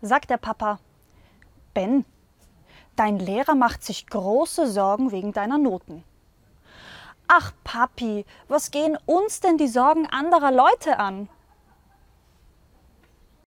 sagt der Papa: Ben, dein Lehrer macht sich große Sorgen wegen deiner Noten. Ach Papi, was gehen uns denn die Sorgen anderer Leute an?